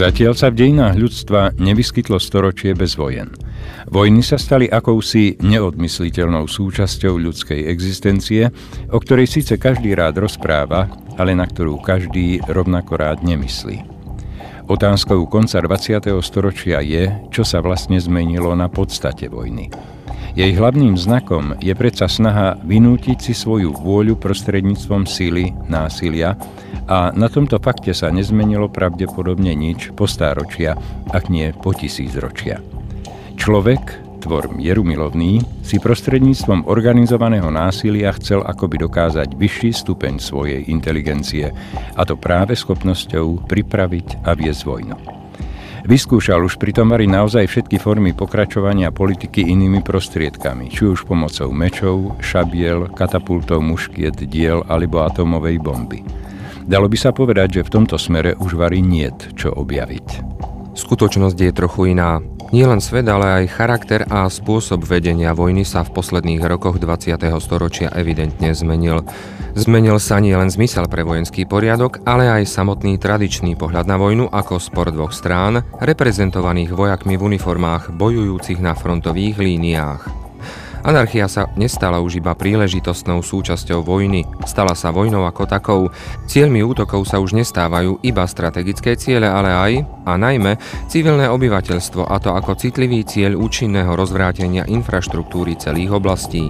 Zatiaľ sa v dejinách ľudstva nevyskytlo storočie bez vojen. Vojny sa stali akousi neodmysliteľnou súčasťou ľudskej existencie, o ktorej síce každý rád rozpráva, ale na ktorú každý rovnako rád nemyslí. Otázkou konca 20. storočia je, čo sa vlastne zmenilo na podstate vojny. Jej hlavným znakom je predsa snaha vynútiť si svoju vôľu prostredníctvom sily, násilia, a na tomto fakte sa nezmenilo pravdepodobne nič po stáročia, ak nie po tisícročia. Človek, tvor mierumilovný, si prostredníctvom organizovaného násilia chcel akoby dokázať vyšší stupeň svojej inteligencie, a to práve schopnosťou pripraviť a viesť vojnu. Vyskúšal už pritom vari naozaj všetky formy pokračovania politiky inými prostriedkami, či už pomocou mečov, šabiel, katapultov, muškiet, diel alebo atómovej bomby. Dalo by sa povedať, že v tomto smere už vari niet čo objaviť. Skutočnosť je trochu iná. Nie len svet, ale aj charakter a spôsob vedenia vojny sa v posledných rokoch 20. storočia evidentne zmenil. Zmenil sa nie len zmysel pre vojenský poriadok, ale aj samotný tradičný pohľad na vojnu ako spor dvoch strán, reprezentovaných vojakmi v uniformách bojujúcich na frontových líniách. Anarchia sa nestala už iba príležitostnou súčasťou vojny, stala sa vojnou ako takou. Cieľmi útokov sa už nestávajú iba strategické ciele, ale aj, a najmä, civilné obyvateľstvo, a to ako citlivý cieľ účinného rozvrátenia infraštruktúry celých oblastí.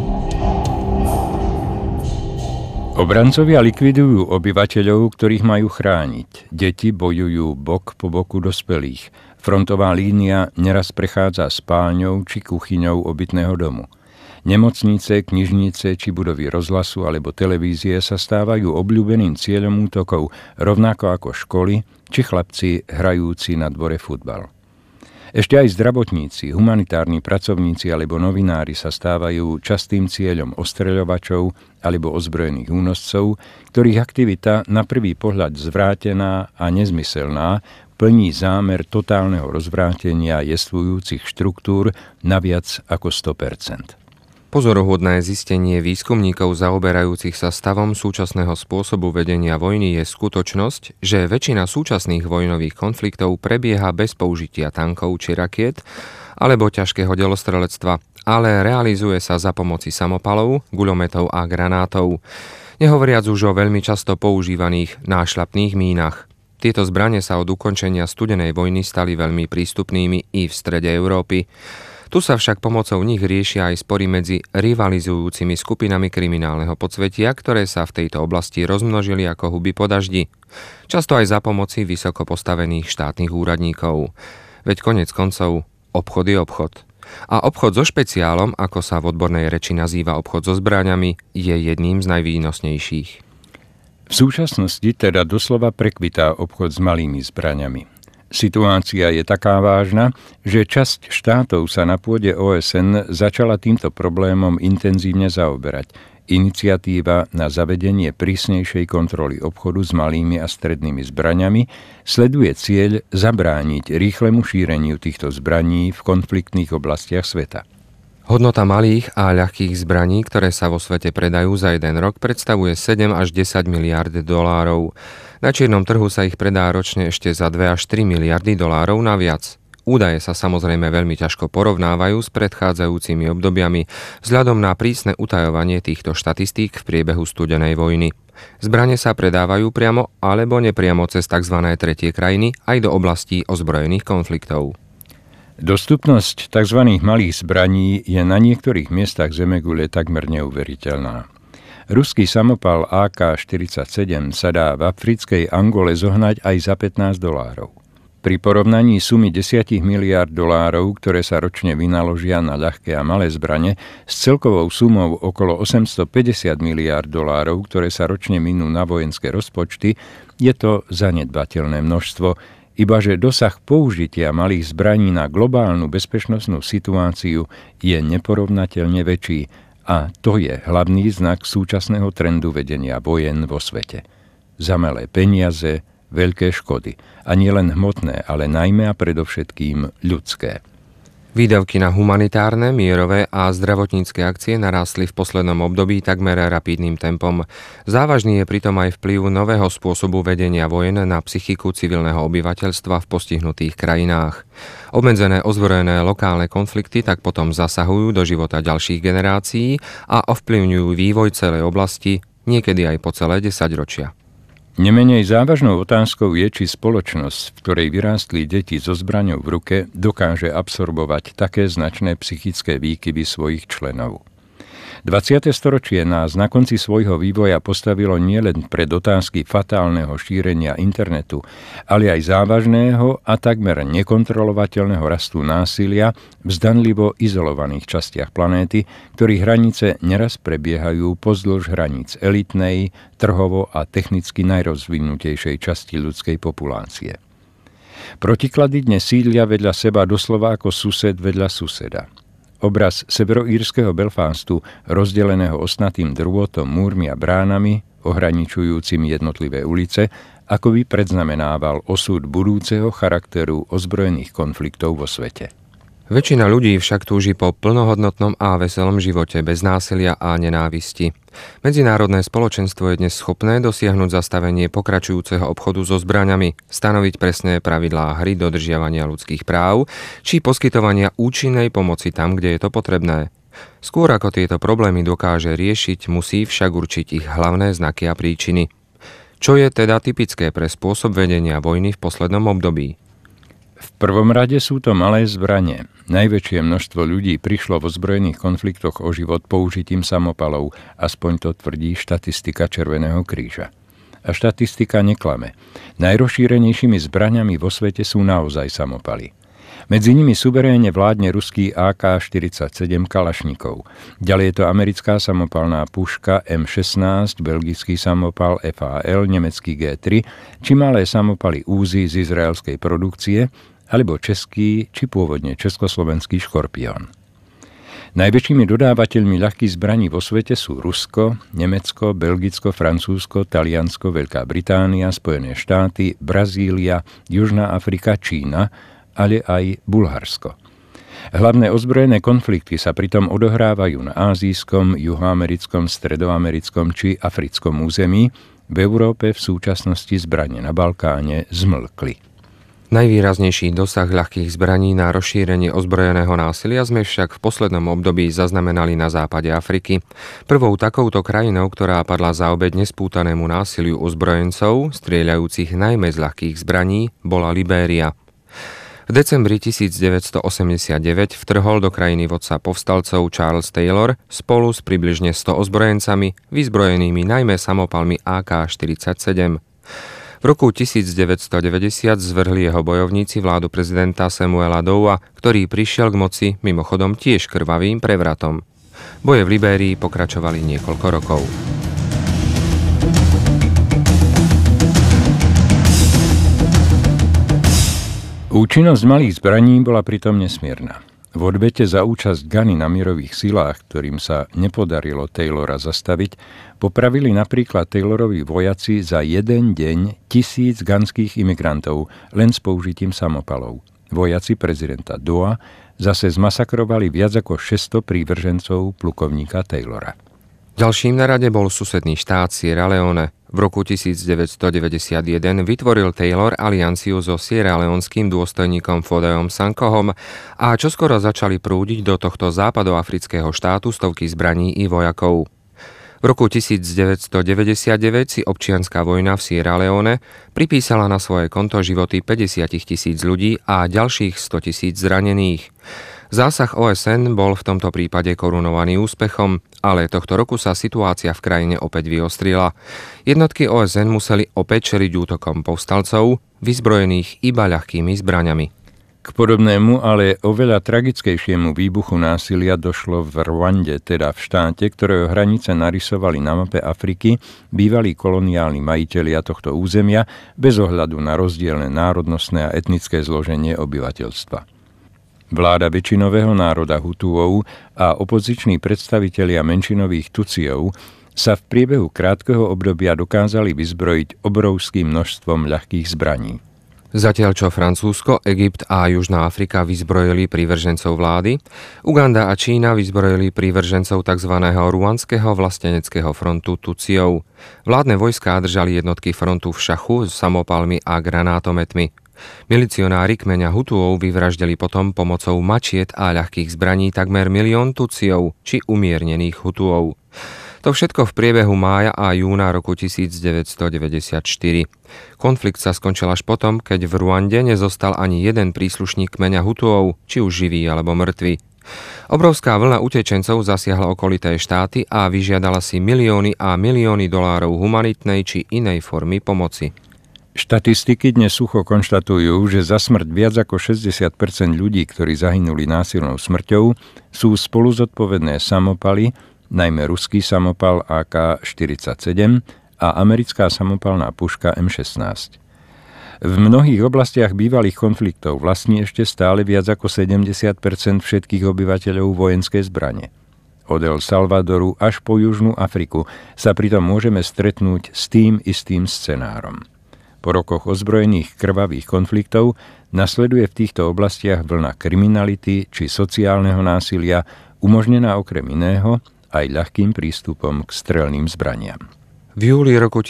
Obrancovia likvidujú obyvateľov, ktorých majú chrániť. Deti bojujú bok po boku dospelých. Frontová línia neraz prechádza spálňou či kuchyňou obytného domu. Nemocnice, knižnice či budovy rozhlasu alebo televízie sa stávajú obľúbeným cieľom útokov, rovnako ako školy či chlapci hrajúci na dvore futbal. Ešte aj zdravotníci, humanitárni pracovníci alebo novinári sa stávajú častým cieľom ostreľovačov alebo ozbrojených únoscov, ktorých aktivita na prvý pohľad zvrátená a nezmyselná plní zámer totálneho rozvrátenia jestvujúcich štruktúr na viac ako 100%. Pozoruhodné zistenie výskumníkov zaoberajúcich sa stavom súčasného spôsobu vedenia vojny je skutočnosť, že väčšina súčasných vojnových konfliktov prebieha bez použitia tankov či rakiet alebo ťažkého delostrelectva, ale realizuje sa za pomoci samopalov, guľometov a granátov. Nehovoriac už o veľmi často používaných nášľapných mínach. Tieto zbrane sa od ukončenia studenej vojny stali veľmi prístupnými i v strede Európy. Tu sa však pomocou nich riešia aj spory medzi rivalizujúcimi skupinami kriminálneho podsvetia, ktoré sa v tejto oblasti rozmnožili ako huby po daždi. Často aj za pomoci vysoko postavených štátnych úradníkov. Veď koniec koncov, obchod je obchod. A obchod so špeciálom, ako sa v odbornej reči nazýva obchod so zbraňami, je jedným z najvýnosnejších. V súčasnosti teda doslova prekvitá obchod s malými zbraňami. Situácia je taká vážna, že časť štátov sa na pôde OSN začala týmto problémom intenzívne zaoberať. Iniciatíva na zavedenie prísnejšej kontroly obchodu s malými a strednými zbraňami sleduje cieľ zabrániť rýchlemu šíreniu týchto zbraní v konfliktných oblastiach sveta. Hodnota malých a ľahkých zbraní, ktoré sa vo svete predajú za jeden rok, predstavuje 7 až 10 miliárd dolárov. Na čiernom trhu sa ich predá ročne ešte za 2 až 3 miliardy dolárov naviac. Údaje sa samozrejme veľmi ťažko porovnávajú s predchádzajúcimi obdobiami vzhľadom na prísne utajovanie týchto štatistík v priebehu studenej vojny. Zbrane sa predávajú priamo alebo nepriamo cez tzv. Tretie krajiny aj do oblastí ozbrojených konfliktov. Dostupnosť tzv. Malých zbraní je na niektorých miestach zemegule takmer neuveriteľná. Ruský samopal AK-47 sa dá v africkej Angole zohnať aj za $15. Pri porovnaní sumy 10 miliárd dolárov, ktoré sa ročne vynaložia na ľahké a malé zbrane, s celkovou sumou okolo 850 miliárd dolárov, ktoré sa ročne minú na vojenské rozpočty, je to zanedbateľné množstvo, ibaže dosah použitia malých zbraní na globálnu bezpečnostnú situáciu je neporovnateľne väčší a to je hlavný znak súčasného trendu vedenia vojen vo svete. Za malé peniaze, veľké škody. A nie len hmotné, ale najmä a predovšetkým ľudské. Výdavky na humanitárne, mierové a zdravotnícke akcie narástli v poslednom období takmer rapidným tempom. Závažný je pritom aj vplyv nového spôsobu vedenia vojen na psychiku civilného obyvateľstva v postihnutých krajinách. Obmedzené ozbrojené lokálne konflikty tak potom zasahujú do života ďalších generácií a ovplyvňujú vývoj celej oblasti, niekedy aj po celé 10 ročia. Nemenej závažnou otázkou je, či spoločnosť, v ktorej vyrástli deti so zbraňou v ruke, dokáže absorbovať také značné psychické výkyvy svojich členov. 20. storočie nás na konci svojho vývoja postavilo nielen pred otázky fatálneho šírenia internetu, ale aj závažného a takmer nekontrolovateľného rastu násilia v zdanlivo izolovaných častiach planéty, ktorých hranice neraz prebiehajú pozdĺž hraníc elitnej, trhovo a technicky najrozvinutejšej časti ľudskej populácie. Protiklady dnes sídlia vedľa seba doslova ako sused vedľa suseda. Obraz severoírskeho Belfastu, rozdeleného ostnatým drôtom, múrmi a bránami, ohraničujúcimi jednotlivé ulice, ako by predznamenával osud budúceho charakteru ozbrojených konfliktov vo svete. Väčšina ľudí však túži po plnohodnotnom a veselom živote bez násilia a nenávisti. Medzinárodné spoločenstvo je dnes schopné dosiahnuť zastavenie pokračujúceho obchodu so zbraňami, stanoviť presné pravidlá hry dodržiavania ľudských práv či poskytovania účinnej pomoci tam, kde je to potrebné. Skôr ako tieto problémy dokáže riešiť, musí však určiť ich hlavné znaky a príčiny. Čo je teda typické pre spôsob vedenia vojny v poslednom období? V prvom rade sú to malé zbrane. Najväčšie množstvo ľudí prišlo v ozbrojených konfliktoch o život použitím samopalov, aspoň to tvrdí štatistika Červeného kríža. A štatistika neklame. Najrozšírenejšími zbraňami vo svete sú naozaj samopaly. Medzi nimi suverénne vládne ruský AK-47 Kalašnikov. Ďalej je to americká samopalná puška M16, belgický samopal FAL, nemecký G3, či malé samopaly Uzi z izraelskej produkcie, alebo český, či pôvodne československý Škorpión. Najväčšími dodávateľmi ľahkých zbraní vo svete sú Rusko, Nemecko, Belgicko, Francúzsko, Taliansko, Veľká Británia, Spojené štáty, Brazília, Južná Afrika, Čína, ale aj Bulharsko. Hlavné ozbrojené konflikty sa pritom odohrávajú na ázijskom, juhoamerickom, stredoamerickom či africkom území. V Európe v súčasnosti zbrane na Balkáne zmlkli. Najvýraznejší dosah ľahkých zbraní na rozšírenie ozbrojeného násilia sme však v poslednom období zaznamenali na západe Afriky. Prvou takouto krajinou, ktorá padla za obeť nespútanému násiliu ozbrojencov, strieľajúcich najmä z ľahkých zbraní, bola Libéria. V decembri 1989 vtrhol do krajiny vodca povstalcov Charles Taylor spolu s približne 100 ozbrojencami, vyzbrojenými najmä samopalmi AK-47. V roku 1990 zvrhli jeho bojovníci vládu prezidenta Samuela Doua, ktorý prišiel k moci mimochodom tiež krvavým prevratom. Boje v Libérii pokračovali niekoľko rokov. Účinnosť malých zbraní bola pritom nesmierna. V odvete za účasť Gany na mierových silách, ktorým sa nepodarilo Taylora zastaviť, popravili napríklad Taylorovi vojaci za jeden deň 1000 ganských imigrantov len s použitím samopalov. Vojaci prezidenta Doua zase zmasakrovali viac ako 600 prívržencov plukovníka Taylora. Ďalším na rade bol susedný štát Sierra Leone. V roku 1991 vytvoril Taylor alianciu so sierraleonským dôstojníkom Fodejom Sankohom a čoskoro začali prúdiť do tohto západoafrického štátu stovky zbraní i vojakov. V roku 1999 si občianska vojna v Sierra Leone pripísala na svoje konto životy 50 000 ľudí a ďalších 100 000 zranených. Zásah OSN bol v tomto prípade korunovaný úspechom, ale tohto roku sa situácia v krajine opäť vyostrila. Jednotky OSN museli opäť čeliť útokom povstalcov, vyzbrojených iba ľahkými zbraňami. K podobnému, ale oveľa tragickejšiemu výbuchu násilia došlo v Rwande, teda v štáte, ktorého hranice narysovali na mape Afriky bývalí koloniálni majitelia tohto územia bez ohľadu na rozdielne národnostné a etnické zloženie obyvateľstva. Vláda väčšinového národa Hutuov a opoziční predstavitelia menšinových Tutsiov sa v priebehu krátkeho obdobia dokázali vyzbrojiť obrovským množstvom ľahkých zbraní. Zatiaľ čo Francúzsko, Egypt a Južná Afrika vyzbrojili prívržencov vlády, Uganda a Čína vyzbrojili prívržencov tzv. Ruandského vlasteneckého frontu Tutsiov. Vládne vojská držali jednotky frontu v šachu s samopalmi a granátometmi. Milicionári kmeňa Hutuov vyvraždili potom pomocou mačiet a ľahkých zbraní takmer 1 000 000 Tutsiov či umiernených Hutuov. To všetko v priebehu mája a júna roku 1994. Konflikt sa skončil až potom, keď v Ruande nezostal ani jeden príslušník kmeňa Hutuov, či už živý alebo mŕtvy. Obrovská vlna utečencov zasiahla okolité štáty a vyžiadala si milióny a milióny dolárov humanitnej či inej formy pomoci. Štatistiky dnes sucho konštatujú, že za smrť viac ako 60% ľudí, ktorí zahynuli násilnou smrťou, sú spolu zodpovedné samopaly, najmä ruský samopal AK-47 a americká samopalná puška M16. V mnohých oblastiach bývalých konfliktov vlastní ešte stále viac ako 70% všetkých obyvateľov vojenské zbrane. Od El Salvadoru až po Južnú Afriku sa pritom môžeme stretnúť s tým istým scenárom. Po rokoch ozbrojených krvavých konfliktov nasleduje v týchto oblastiach vlna kriminality či sociálneho násilia, umožnená okrem iného aj ľahkým prístupom k strelným zbraniam. V júli roku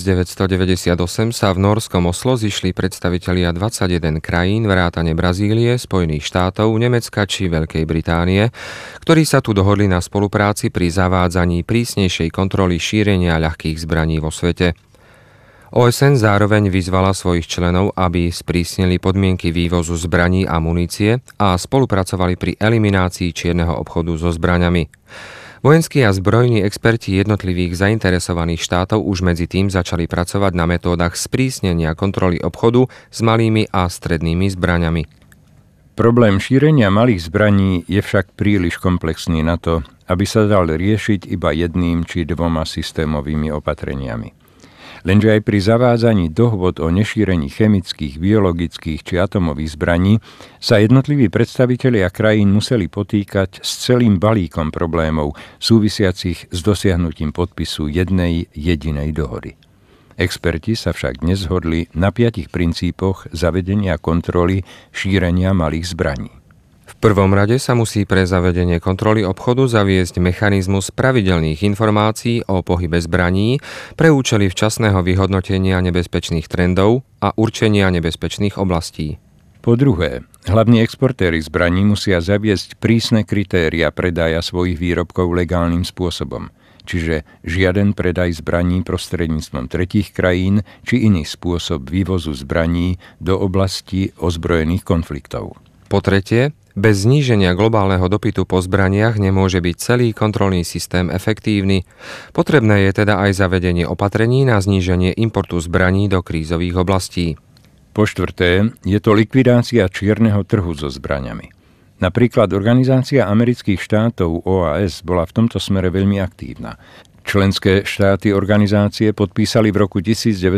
1998 sa v norskom Oslo zišli predstavitelia 21 krajín vrátane Brazílie, Spojených štátov, Nemecka či Veľkej Británie, ktorí sa tu dohodli na spolupráci pri zavádzaní prísnejšej kontroly šírenia ľahkých zbraní vo svete. OSN zároveň vyzvala svojich členov, aby sprísnili podmienky vývozu zbraní a munície a spolupracovali pri eliminácii čierneho obchodu so zbraňami. Vojenskí a zbrojní experti jednotlivých zainteresovaných štátov už medzi tým začali pracovať na metódach sprísnenia kontroly obchodu s malými a strednými zbraňami. Problém šírenia malých zbraní je však príliš komplexný na to, aby sa dal riešiť iba jedným či dvoma systémovými opatreniami. Lenže aj pri zavádzaní dohôd o nešírení chemických, biologických či atomových zbraní sa jednotliví predstavitelia krajín museli potýkať s celým balíkom problémov súvisiacich s dosiahnutím podpisu jednej jedinej dohody. Experti sa však dnes zhodli na 5 princípoch zavedenia kontroly šírenia malých zbraní. V prvom rade sa musí pre zavedenie kontroly obchodu zaviesť mechanizmus pravidelných informácií o pohybe zbraní pre účely včasného vyhodnotenia nebezpečných trendov a určenia nebezpečných oblastí. Po druhé, hlavní exportéri zbraní musia zaviesť prísne kritéria predaja svojich výrobkov legálnym spôsobom, čiže žiaden predaj zbraní prostredníctvom tretích krajín či iný spôsob vývozu zbraní do oblasti ozbrojených konfliktov. Po tretie, bez zníženia globálneho dopytu po zbraniach nemôže byť celý kontrolný systém efektívny. Potrebné je teda aj zavedenie opatrení na zníženie importu zbraní do krízových oblastí. Po štvrté, je to likvidácia čierneho trhu so zbraňami. Napríklad Organizácia amerických štátov OAS bola v tomto smere veľmi aktívna. Členské štáty organizácie podpísali v roku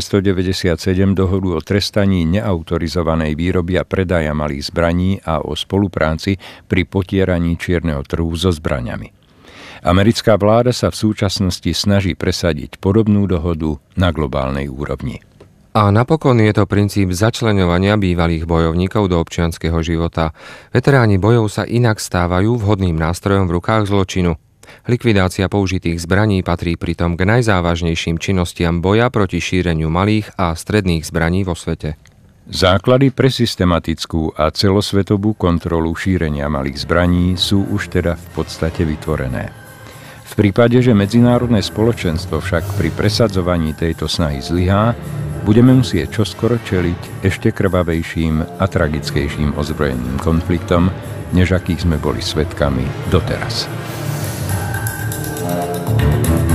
1997 dohodu o trestaní neautorizovanej výroby a predaja malých zbraní a o spolupráci pri potieraní čierneho trhu so zbraňami. Americká vláda sa v súčasnosti snaží presadiť podobnú dohodu na globálnej úrovni. A napokon je to princíp začleňovania bývalých bojovníkov do občianskeho života. Veteráni bojov sa inak stávajú vhodným nástrojom v rukách zločinu. Likvidácia použitých zbraní patrí pritom k najzávažnejším činnostiam boja proti šíreniu malých a stredných zbraní vo svete. Základy pre systematickú a celosvetovú kontrolu šírenia malých zbraní sú už teda v podstate vytvorené. V prípade, že medzinárodné spoločenstvo však pri presadzovaní tejto snahy zlyhá, budeme musieť čoskoro čeliť ešte krvavejším a tragickejším ozbrojeným konfliktom, než akých sme boli svedkami doteraz.